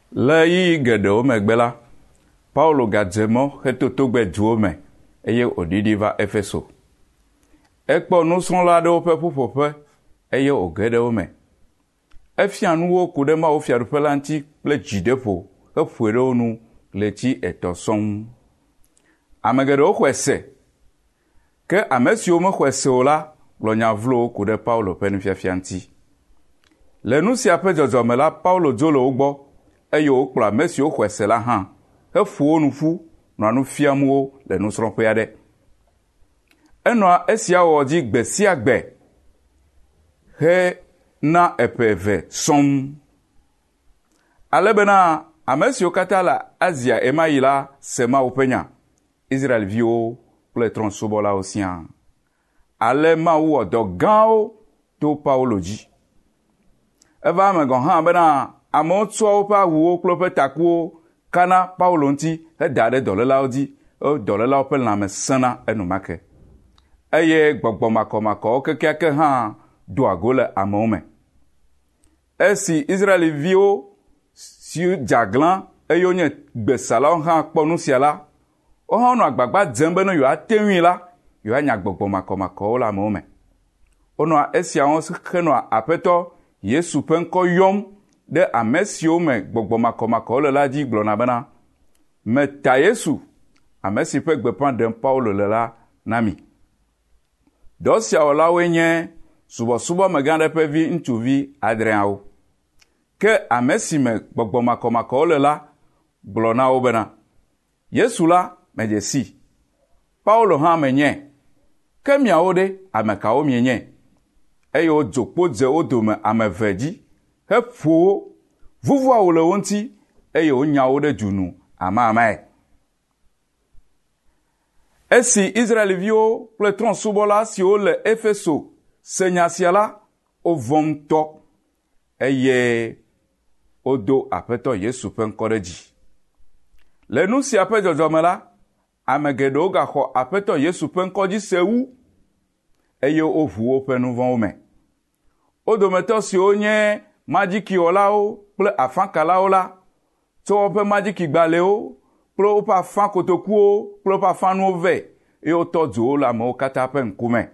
Le yi geɖewo megbe la, Paulo gadze mɔ hetotogbe duwo me eye wòɖiɖi va Efeso. Ekpɔ nusrɔ̃la aɖewo ƒe ƒuƒoƒe eye wòge ɖe wo me. Efia nuwo ku ɖe mawufiaɖuƒe la ŋuti kple dzideƒo heƒoe ɖe wo nu le eti 3 sɔŋ. Ame geɖewo xɔe se, ke ame siwo mexɔe se o la gblɔ nya vlowo ku ɖe Paulo ƒe nufiafia ŋuti. Le nu sia ƒe dzɔdzɔme la, Paulo dzo le wo gbɔ eye wokplɔ ame siwo xɔe se la hã heƒo wo nu ƒu nɔa nu fiam wo le nusrɔ̃ƒe aɖe. Enɔa esia wɔ dzi gbe sia gbe he na eƒe 2 sɔm. Ale bena ame siwo katã le Asia ema yi la se Mawu ƒe nya, Israelviwo kple trɔ̃subɔlawo siaa. Ale Mawu wɔ dɔ gãwo to Paulo dzi. Eva eme gɔ hã bena amewo tsɔa woƒe awuwo kple woƒe takuwo kana Paulo ŋuti heda ɖe dɔlélawo dzi, dɔlélawo ƒe lãme sena enumake. Eye gbɔgbɔ makɔmakɔwo kekeake hã doa go le amewo me. Esi Israelviwo si dzaglã eye wonye gbesalawo hã kpɔ nu sia la, wo hã nɔ agbagba dzem be ne yewoate ŋui la, yewoanya gbɔgbɔ makɔmakɔwo le amewo me. Wonɔa esiawo henɔa Aƒetɔ Yesu ƒe ŋkɔ yɔm ɖe ame siwo me gbɔgbɔ makɔmakɔwo le la dzi gblɔna bena, meta Yesu, ame si ƒe gbeƒã ɖem Paulo le la na mi. Dɔ sia wɔlawoe nye subɔsubɔmegã aɖe ƒe vi ŋutsuvi 7. Ke ame si me gbɔgbɔ makɔmakɔwo le la gblɔ na wo bena, Yesu la medze si, Paulo hã menye, ke miawo ɖe ame kawo mienye? Eye wodzo kpo dze wo dome ame 2 dzi, heƒo wo, vuvua wo le wo ŋuti, eye wonya wo ɖe dzunu amamae. Esi Israelviwo kple trɔ̃subɔla siwo le Efeso se nya sia la, wovɔ ŋutɔ eye wodo Aƒetɔ Yesu ƒe ŋkɔ ɖe dzi. Le nu sia ƒe dzɔdzɔme la, ame geɖewo gaxɔ Aƒetɔ Yesu ƒe ŋkɔ dzi se wu eye woʋu woƒe nu vɔ̃wo me. Wo dometɔ siwo nye madzikiwɔlawo kple afãkalawo la, tsɔ woƒe madzikigbalẽwo kple woƒe afã kotokuwo kple woƒe afãnuwo vɛ eye wotɔ dzo wo le amewo katã ƒe ŋkume.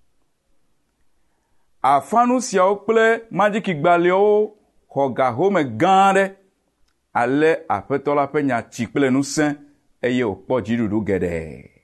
Afãnu siawo kple madzikigbalẽwo xɔ gahome gã aɖe, ale Aƒetɔ la ƒe nya tsi kple ŋusẽ eye wòkpɔ dziɖuɖu geɖe.